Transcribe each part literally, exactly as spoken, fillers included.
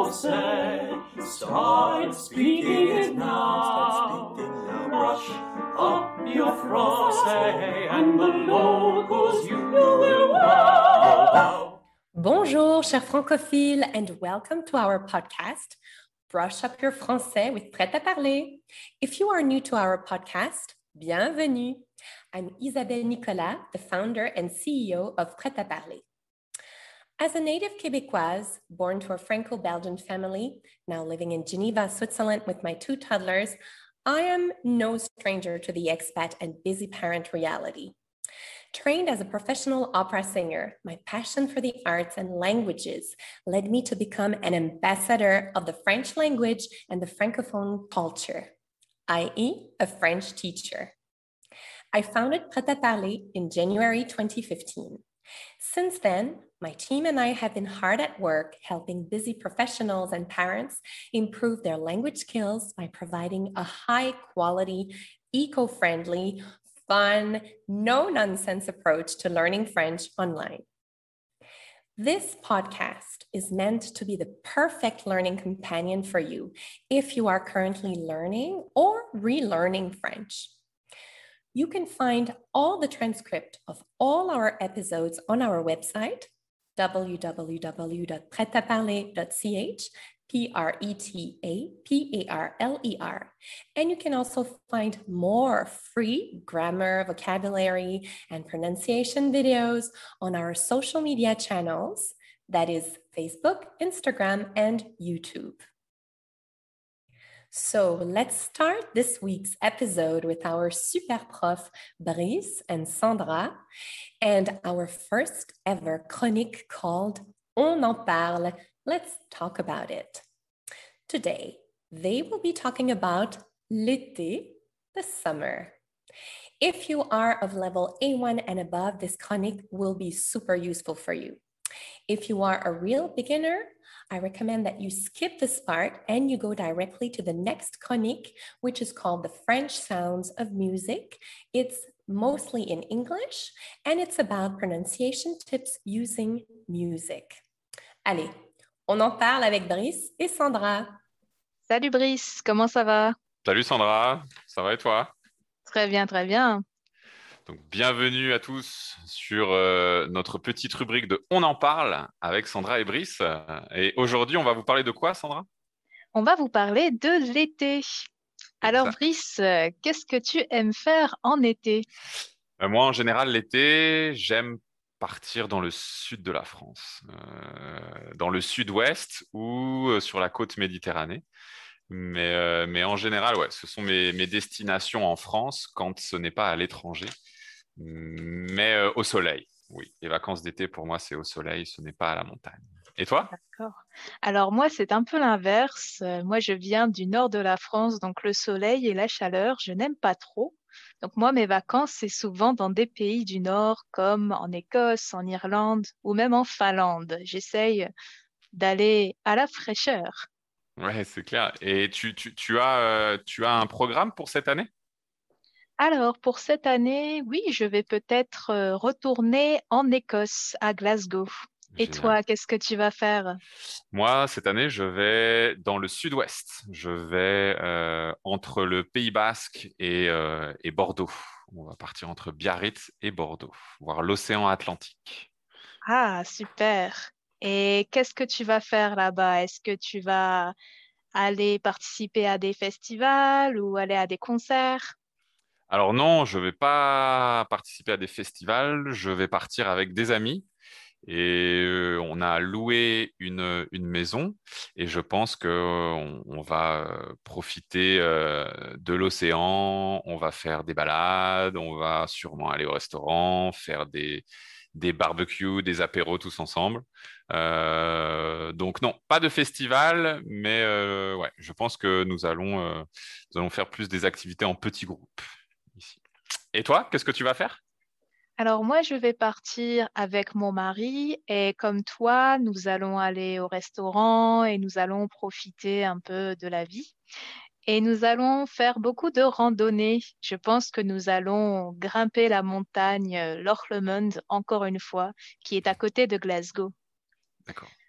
français. Start speaking it now. Brush up your français and the locals you will wow. Bonjour, chers francophiles, and welcome to our podcast, Brush Up Your Français with Prêt à Parler. If you are new to our podcast, bienvenue. I'm Isabelle Nicolas, the founder and C E O of Prêt à Parler. As a native Québécoise, born to a Franco-Belgian family, now living in Geneva, Switzerland with my two toddlers, I am no stranger to the expat and busy parent reality. Trained as a professional opera singer, my passion for the arts and languages led me to become an ambassador of the French language and the Francophone culture, that is, a French teacher. I founded Prêt à Parler in January twenty fifteen. Since then, my team and I have been hard at work helping busy professionals and parents improve their language skills by providing a high-quality, eco-friendly, fun, no-nonsense approach to learning French online. This podcast is meant to be the perfect learning companion for you if you are currently learning or relearning French. You can find all the transcript of all our episodes on our website, w w w dot prêt à parler dot c h, P R E T A P A R L E R. And you can also find more free grammar, vocabulary, and pronunciation videos on our social media channels, that is Facebook, Instagram, and YouTube. So let's start this week's episode with our super prof Brice and Sandra and our first ever chronique called On en parle. Let's talk about it. Today, they will be talking about l'été, the summer. If you are of level A one and above, this chronique will be super useful for you. If you are a real beginner, I recommend that you skip this part and you go directly to the next chronique, which is called The French Sounds of Music. It's mostly in English and it's about pronunciation tips using music. Allez, on en parle avec Brice et Sandra. Salut Brice, comment ça va? Salut Sandra, ça va et toi? Très bien, très bien. Donc, bienvenue à tous sur euh, notre petite rubrique de On en parle avec Sandra et Brice. Et aujourd'hui, on va vous parler de quoi, Sandra? On va vous parler de l'été. Alors Exact. Brice, euh, qu'est-ce que tu aimes faire en été? Euh, moi, en général, l'été, j'aime partir dans le sud de la France, euh, dans le sud-ouest ou euh, sur la côte Méditerranée. Mais, euh, mais en général, ouais, ce sont mes, mes destinations en France quand ce n'est pas à l'étranger. Mais euh, au soleil, oui. Les vacances d'été, pour moi, c'est au soleil, ce n'est pas à la montagne. Et toi? D'accord. Alors moi, c'est un peu l'inverse. Euh, Moi, je viens du nord de la France, donc le soleil et la chaleur, je n'aime pas trop. Donc moi, mes vacances, c'est souvent dans des pays du nord, comme en Écosse, en Irlande ou même en Finlande. J'essaye d'aller à la fraîcheur. Ouais, c'est clair. Et tu, tu, tu as, euh, tu as un programme pour cette année? Alors, pour cette année, oui, je vais peut-être euh, retourner en Écosse, à Glasgow. Et Génial. toi, qu'est-ce que tu vas faire? Moi, cette année, je vais dans le sud-ouest. Je vais euh, entre le Pays Basque et, euh, et Bordeaux. On va partir entre Biarritz et Bordeaux, voir l'océan Atlantique. Ah, super. Et qu'est-ce que tu vas faire là-bas? Est-ce que tu vas aller participer à des festivals ou aller à des concerts? Alors non, je vais pas participer à des festivals. Je vais partir avec des amis. Et euh, on a loué une, une maison et je pense qu'on on va euh, profiter euh, de l'océan, on va faire des balades, on va sûrement aller au restaurant, faire des, des barbecues, des apéros tous ensemble. Euh, donc non, pas de festival, mais euh, ouais, je pense que nous allons, euh, nous allons faire plus des activités en petits groupes ici. Et toi, qu'est-ce que tu vas faire? Alors moi, je vais partir avec mon mari et comme toi, nous allons aller au restaurant et nous allons profiter un peu de la vie. Et nous allons faire beaucoup de randonnées. Je pense que nous allons grimper la montagne euh, Loch Lomond encore une fois, qui est à côté de Glasgow. D'accord.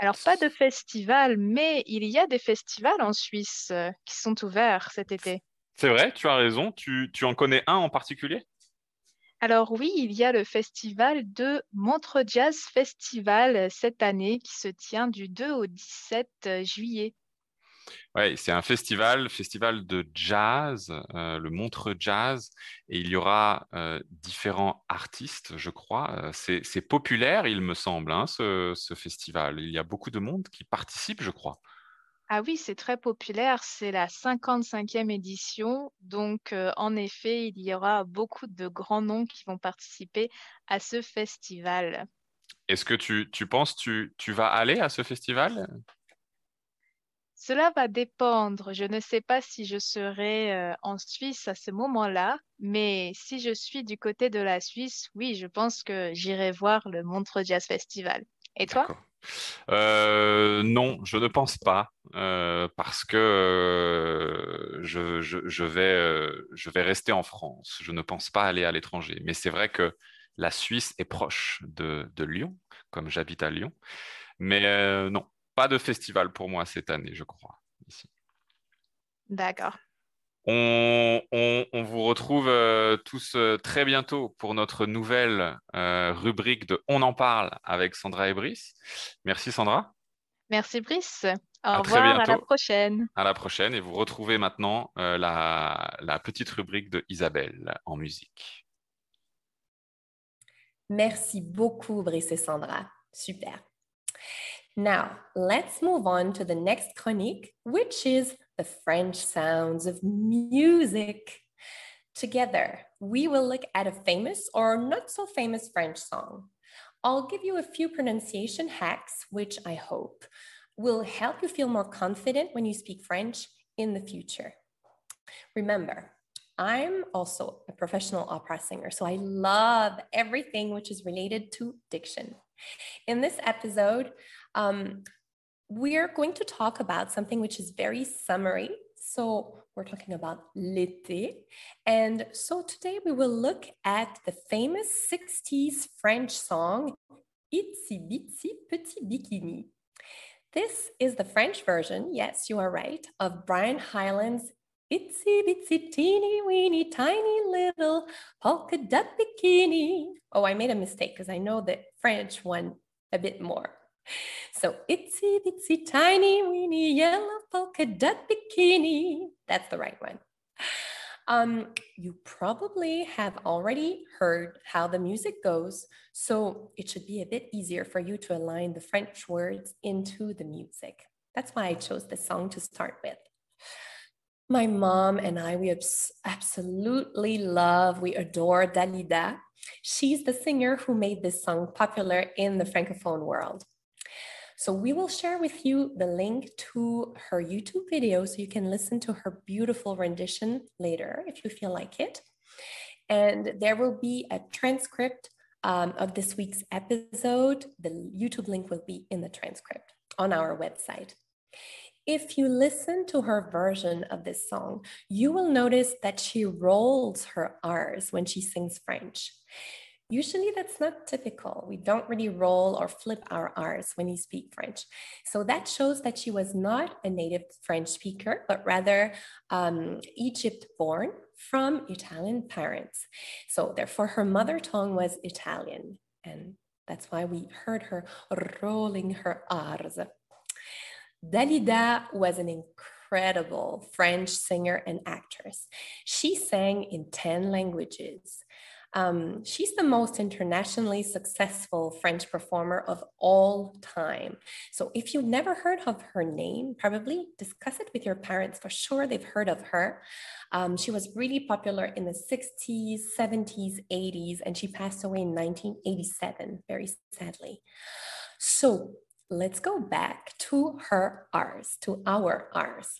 Alors, pas de festival, mais il y a des festivals en Suisse euh, qui sont ouverts cet été. C'est vrai, tu as raison. Tu, tu en connais un en particulier? Alors oui, il y a le festival de Montreux Jazz Festival euh, cette année qui se tient du deux au dix-sept euh, juillet. Ouais, c'est un festival, festival de jazz, euh, le Montreux Jazz, et il y aura euh, différents artistes, je crois. Euh, C'est, c'est populaire, il me semble, hein, ce, ce festival. Il y a beaucoup de monde qui participe, je crois. Ah oui, c'est très populaire, c'est la cinquante-cinquième édition, donc euh, en effet, il y aura beaucoup de grands noms qui vont participer à ce festival. Est-ce que tu, tu penses tu, tu vas aller à ce festival? Cela va dépendre. Je ne sais pas si je serai euh, en Suisse à ce moment-là, mais si je suis du côté de la Suisse, oui, je pense que j'irai voir le Montreux Jazz Festival. Et toi? D'accord. Euh, non, je ne pense pas, euh, parce que euh, je, je, je vais, euh, je vais rester en France. Je ne pense pas aller à l'étranger. Mais c'est vrai que la Suisse est proche de, de Lyon, comme j'habite à Lyon. Mais euh, non, pas de festival pour moi cette année, je crois, ici. D'accord. On, on- on vous retrouve euh, tous euh, très bientôt pour notre nouvelle euh, rubrique de On en parle avec Sandra et Brice. Merci Sandra. Merci Brice. Au À très revoir, à la bientôt. prochaine. À la prochaine et vous retrouvez maintenant euh, la, la petite rubrique de Isabelle en musique. Merci beaucoup, Brice et Sandra. Super. Now, let's move on to the next chronique, which is the French sounds of music. Together, we will look at a famous or not so famous French song. I'll give you a few pronunciation hacks, which I hope will help you feel more confident when you speak French in the future. Remember, I'm also a professional opera singer, so I love everything which is related to diction. In this episode, um, we're going to talk about something which is very summery. So we're talking about l'été. And so today we will look at the famous sixties French song, Itsy Bitsy Petit Bikini. This is the French version, yes, you are right, of Brian Hyland's Itsy Bitsy Teeny Weeny Tiny Little Polka Dot Bikini. Oh, I made a mistake because I know the French one a bit more. So itsy bitsy tiny weeny yellow polka dot bikini. That's the right one. Um, you probably have already heard how the music goes, so it should be a bit easier for you to align the French words into the music. That's why I chose this song to start with. My mom and I, we abs- absolutely love, we adore Dalida. She's the singer who made this song popular in the Francophone world. So we will share with you the link to her YouTube video so you can listen to her beautiful rendition later if you feel like it. And there will be a transcript um, of this week's episode. The YouTube link will be in the transcript on our website. If you listen to her version of this song, you will notice that she rolls her R's when she sings French. Usually that's not typical. We don't really roll or flip our R's when you speak French. So that shows that she was not a native French speaker, but rather um, Egypt born from Italian parents. So therefore her mother tongue was Italian. And that's why we heard her rolling her R's. Dalida was an incredible French singer and actress. She sang in ten languages. Um, she's the most internationally successful French performer of all time. So if you've never heard of her name, probably discuss it with your parents. For sure, they've heard of her. Um, she was really popular in the sixties, seventies, eighties, and she passed away in nineteen eighty-seven, very sadly. So let's go back to her R's, to our R's.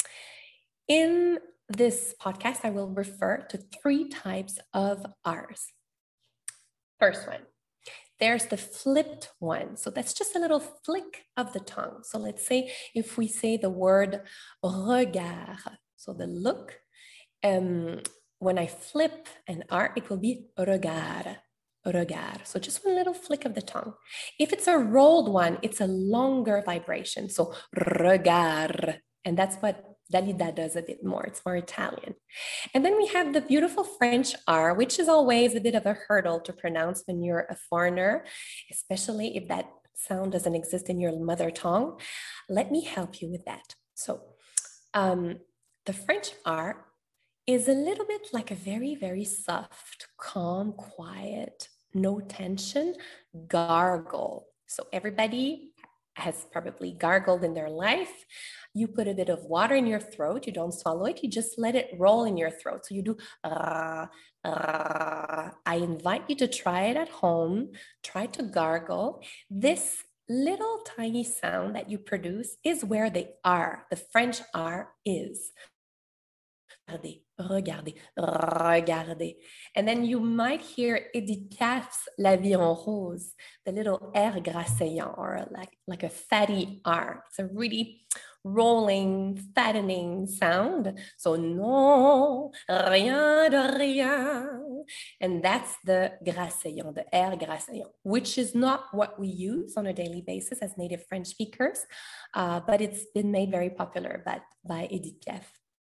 In this podcast, I will refer to three types of R's. First one, there's the flipped one. So that's just a little flick of the tongue. So let's say if we say the word regard, so the look, um, when I flip an R, it will be regard. regard. So just one little flick of the tongue. If it's a rolled one, it's a longer vibration. So regard. And that's what Dalida does a bit more. It's more Italian. And then we have the beautiful French R, which is always a bit of a hurdle to pronounce when you're a foreigner, especially if that sound doesn't exist in your mother tongue. Let me help you with that. So um, the French R is a little bit like a very, very soft, calm, quiet, no tension gargle. So everybody has probably gargled in their life. You put a bit of water in your throat. You don't swallow it. You just let it roll in your throat. So you do, uh, uh. I invite you to try it at home. Try to gargle. This little tiny sound that you produce is where the R, the French R is. Regardez, regardez, regardez. And then you might hear Edith Piaf's La Vie en Rose, the little R grasseyant, or like, like a fatty R. It's a really rolling, fattening sound. So, non, rien de rien. And that's the grasseyant, the R grasseyant, which is not what we use on a daily basis as native French speakers, uh, but it's been made very popular by, by Edith Piaf.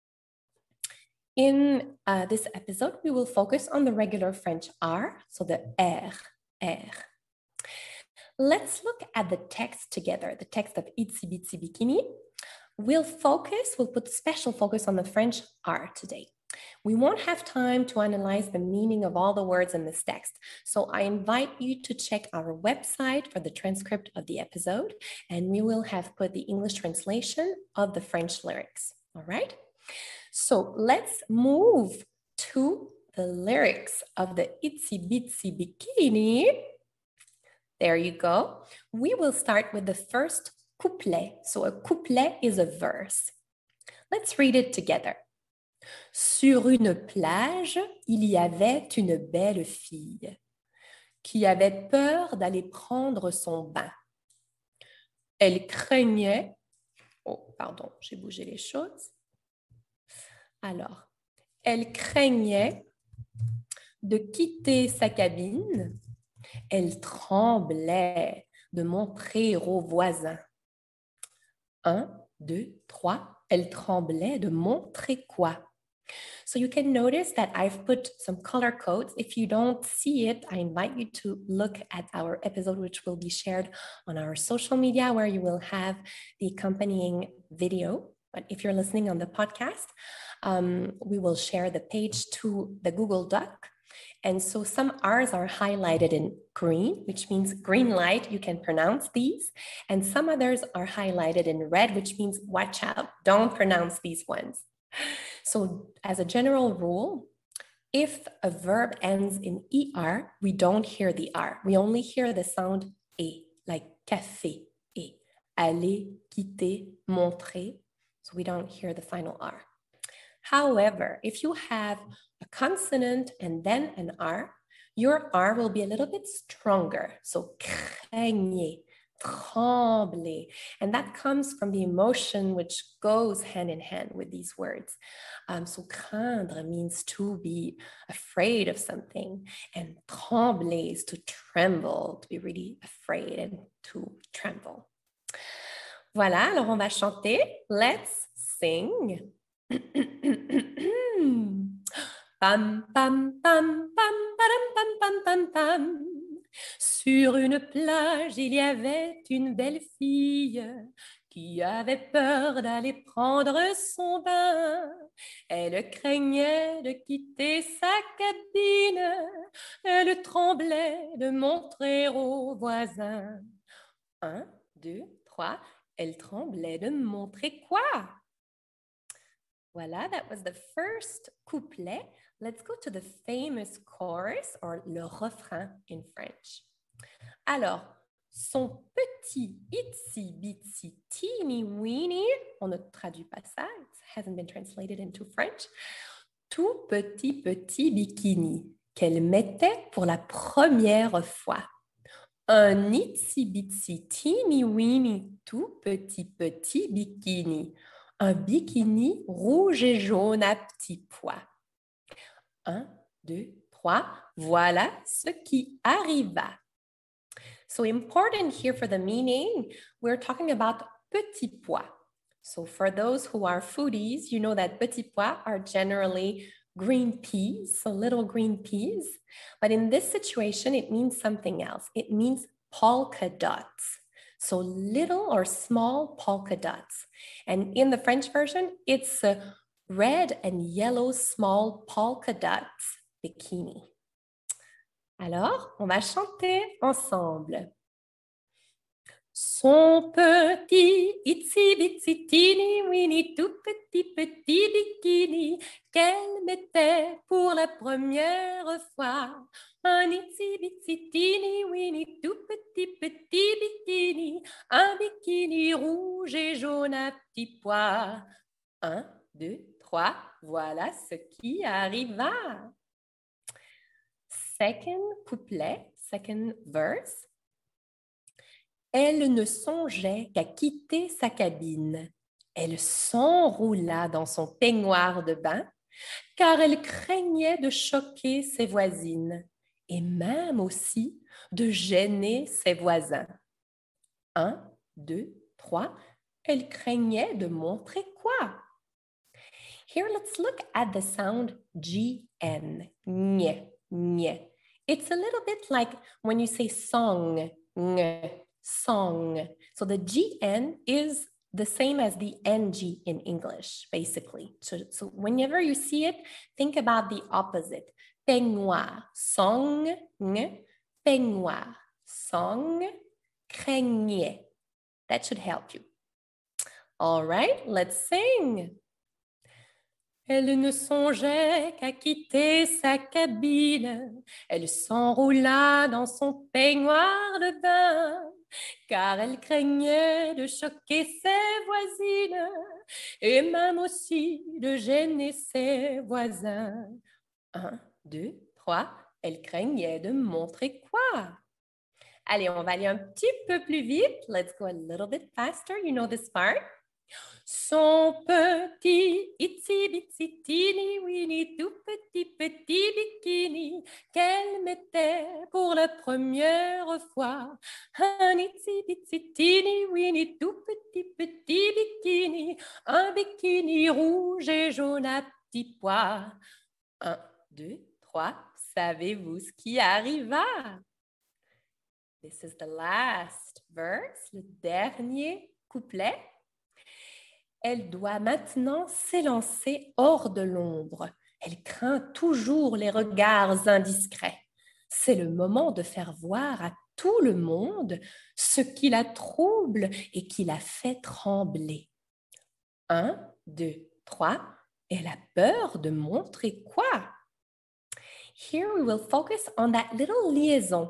In uh, this episode, we will focus on the regular French R, so the R, R. Let's look at the text together, the text of Itsy Bitsy Bikini. We'll focus, we'll put special focus on the French R today. We won't have time to analyze the meaning of all the words in this text, so I invite you to check our website for the transcript of the episode, and we will have put the English translation of the French lyrics, all right? So let's move to the lyrics of the Itsy Bitsy Bikini. There you go. We will start with the first couplet. So a couplet is a verse. Let's read it together. Sur une plage, il y avait une belle fille qui avait peur d'aller prendre son bain. Elle craignait... Oh, pardon, j'ai bougé les choses. Alors, elle craignait de quitter sa cabine. Elle tremblait de montrer aux voisins. Un, deux, trois. Elle tremblait de montrer quoi? So you can notice that I've put some color codes. If you don't see it, I invite you to look at our episode, which will be shared on our social media, where you will have the accompanying video. But if you're listening on the podcast, um, we will share the page to the Google Doc. And so some R's are highlighted in green, which means green light, you can pronounce these. And some others are highlighted in red, which means watch out, don't pronounce these ones. So as a general rule, if a verb ends in er, we don't hear the R. We only hear the sound e, like café, e, aller, quitter, montrer. So we don't hear the final R. However, if you have a consonant and then an R, your R will be a little bit stronger. So craignez, tremblez. And that comes from the emotion which goes hand in hand with these words. Um, so craindre means to be afraid of something. And trembler is to tremble, to be really afraid and to tremble. Voilà, alors on va chanter. Let's sing. Pam, pam, pam, pam, pam, pam, pam, pam, pam. Sur une plage, il y avait une belle fille qui avait peur d'aller prendre son bain. Elle craignait de quitter sa cabine. Elle tremblait de montrer aux voisins. Un, deux, trois. Elle tremblait de montrer quoi? Voilà, that was the first couplet. Let's go to the famous chorus, or le refrain in French. Alors, son petit itsy bitsy teeny weeny, on ne traduit pas ça, it hasn't been translated into French, tout petit petit bikini qu'elle mettait pour la première fois. Un itsy bitsy teeny weeny, tout petit petit bikini. Un bikini rouge et jaune à petits pois. Un, deux, trois, voilà ce qui arriva. So important here for the meaning, we're talking about petits pois. So for those who are foodies, you know that petits pois are generally green peas, so little green peas. But in this situation, it means something else. It means polka dots. So little or small polka dots. And in the French version, it's a red and yellow small polka dots bikini. Alors, on va chanter ensemble. Son petit, itsy bitsy teeny weeny, tout petit petit bikini qu'elle mettait pour la première fois. Un itsy bitsy teeny weeny, tout petit petit bikini, un bikini rouge et jaune à petits pois. Un, deux, trois, voilà ce qui arriva. Second couplet, second verse. Elle ne songeait qu'à quitter sa cabine. Elle s'enroula dans son peignoir de bain, car elle craignait de choquer ses voisines et même aussi de gêner ses voisins. Un, deux, trois, elle craignait de montrer quoi? Here, let's look at the sound G N. Nye, nye. It's a little bit like when you say song, ng, song. So the G N is the same as the N G in English, basically. So, so whenever you see it, think about the opposite. Peignoir, song, ng, peignoir, song, craignait. That should help you. All right, let's sing. Elle ne songeait qu'à quitter sa cabine. Elle s'enroula dans son peignoir de bain, car elle craignait de choquer ses voisines et même aussi de gêner ses voisins. Un, deux, trois, elle craignait de montrer quoi? Allez, on va aller un petit peu plus vite. Let's go a little bit faster. You know this part. Son petit, itsy bitsy teeny weeny, tout petit petit bikini qu'elle mettait pour la première fois. Un itsy bitsy teeny weeny, tout petit petit bikini, un bikini rouge et jaune à petits pois. Un, deux, trois, savez-vous ce qui arriva? This is the last verse, le dernier couplet. Elle doit maintenant s'élancer hors de l'ombre. Elle craint toujours les regards indiscrets. C'est le moment de faire voir à tout le monde ce qui la trouble et qui la fait trembler. Un, deux, trois. Elle a peur de montrer quoi? Here we will focus on that little liaison.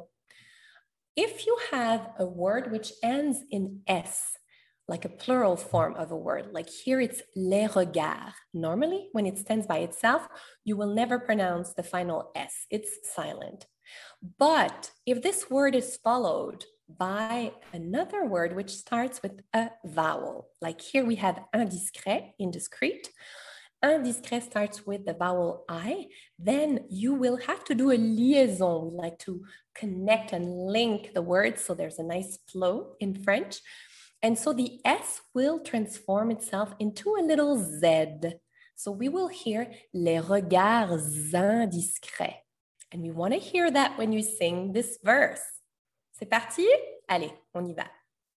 If you have a word which ends in S, like a plural form of a word, like here it's les regards. Normally, when it stands by itself, you will never pronounce the final S. It's silent. But if this word is followed by another word which starts with a vowel, like here we have indiscret, indiscreet. Indiscret starts with the vowel I, then you will have to do a liaison. We like to connect and link the words so there's a nice flow in French. And so the S will transform itself into a little Z. So we will hear les regards indiscrets. And we want to hear that when you sing this verse. C'est parti? Allez, on y va.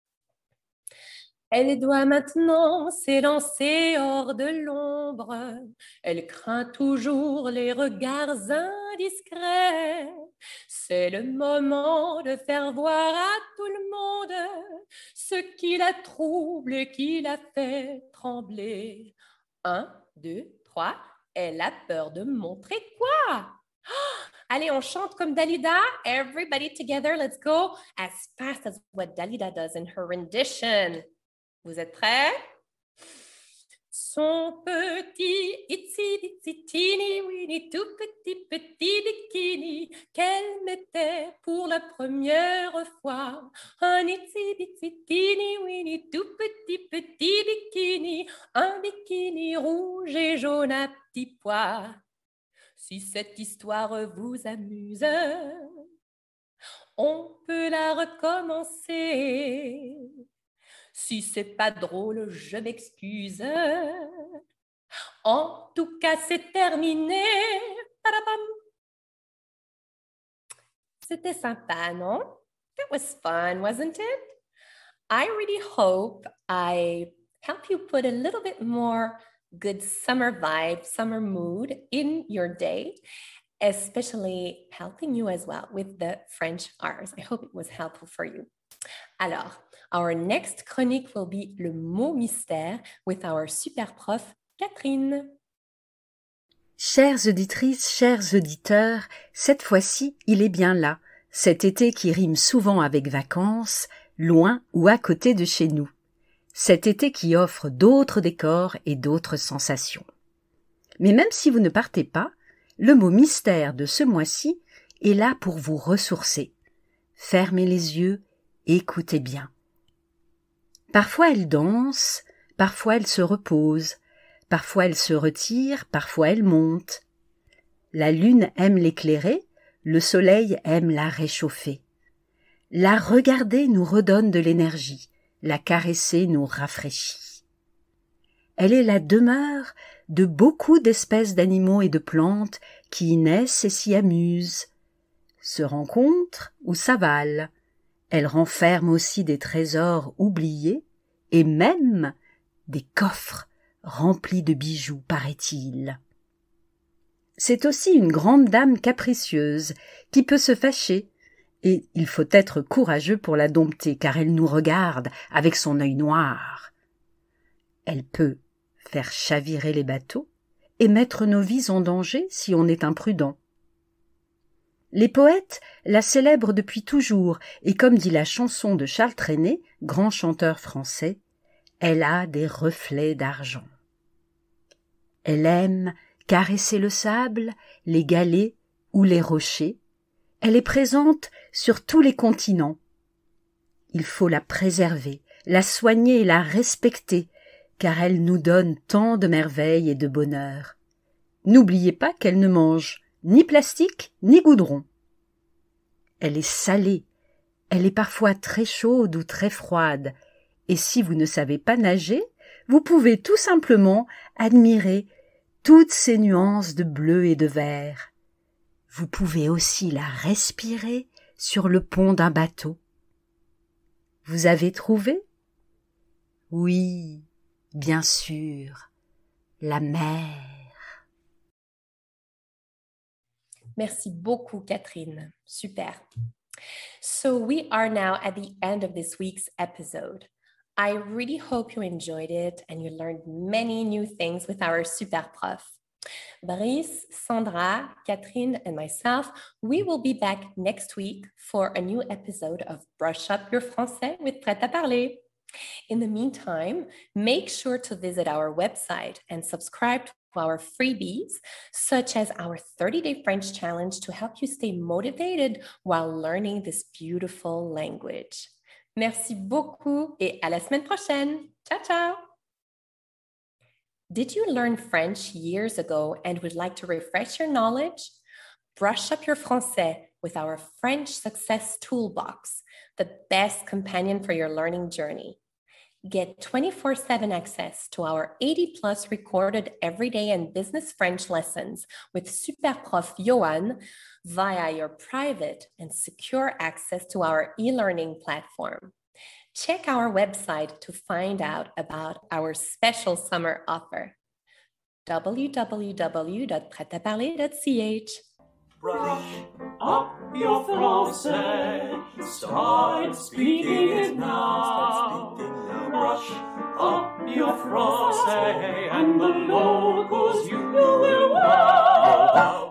Elle doit maintenant s'élancer hors de l'ombre. Elle craint toujours les regards indiscrets. C'est le moment de faire voir à tout le monde ce qui la trouble et qui la fait trembler. Un, deux, trois. Elle a peur de montrer quoi? Oh, allez, on chante comme Dalida. Everybody together, let's go as fast as what Dalida does in her rendition. Vous êtes prêts? Son petit, itsy bitsy teeny weeny, tout petit petit bikini qu'elle mettait pour la première fois. Un itsy bitsy teeny weeny, tout petit petit bikini, un bikini rouge et jaune à petits pois. Si cette histoire vous amuse, on peut la recommencer. Si c'est pas drôle, je m'excuse. En tout cas, c'est terminé. Padapam. C'était sympa, non? That was fun, wasn't it? I really hope I help you put a little bit more good summer vibe, summer mood in your day, especially helping you as well with the French R's. I hope it was helpful for you. Alors, our next chronique will be le mot mystère with our super prof, Catherine. Chères auditrices, chers auditeurs, cette fois-ci, il est bien là, cet été qui rime souvent avec vacances, loin ou à côté de chez nous. Cet été qui offre d'autres décors et d'autres sensations. Mais même si vous ne partez pas, le mot mystère de ce mois-ci est là pour vous ressourcer. Fermez les yeux, écoutez bien. Parfois elle danse, parfois elle se repose, parfois elle se retire, parfois elle monte. La lune aime l'éclairer, le soleil aime la réchauffer. La regarder nous redonne de l'énergie, la caresser nous rafraîchit. Elle est la demeure de beaucoup d'espèces d'animaux et de plantes qui y naissent et s'y amusent, se rencontrent ou s'avalent. Elle renferme aussi des trésors oubliés et même des coffres remplis de bijoux, paraît-il. C'est aussi une grande dame capricieuse qui peut se fâcher, et il faut être courageux pour la dompter car elle nous regarde avec son œil noir. Elle peut faire chavirer les bateaux et mettre nos vies en danger si on est imprudent. Les poètes la célèbrent depuis toujours et comme dit la chanson de Charles Trenet, grand chanteur français, elle a des reflets d'argent. Elle aime caresser le sable, les galets ou les rochers. Elle est présente sur tous les continents. Il faut la préserver, la soigner et la respecter, car elle nous donne tant de merveilles et de bonheur. N'oubliez pas qu'elle ne mange ni plastique ni goudron. Elle est salée, elle est parfois très chaude ou très froide, et si vous ne savez pas nager, vous pouvez tout simplement admirer toutes ces nuances de bleu et de vert. Vous pouvez aussi la respirer sur le pont d'un bateau. Vous avez trouvé? Oui, bien sûr, la mer. Merci beaucoup, Catherine. Super. So we are now at the end of this week's episode. I really hope you enjoyed it and you learned many new things with our super prof. Brice, Sandra, Catherine, and myself, we will be back next week for a new episode of Brush Up Your Français with Prêt à Parler. In the meantime, make sure to visit our website and subscribe to our freebies, such as our thirty-day French challenge to help you stay motivated while learning this beautiful language. Merci beaucoup et à la semaine prochaine. Ciao, ciao! Did you learn French years ago and would like to refresh your knowledge? Brush up your français with our French Success Toolbox, the best companion for your learning journey. Get twenty-four seven access to our eighty plus recorded everyday and business French lessons with Superprof Johan via your private and secure access to our e-learning platform. Check our website to find out about our special summer offer. w w w dot prêt à parler dot c h. Brush up your français. Start speaking it now. Brush up your français, and the locals you will wow.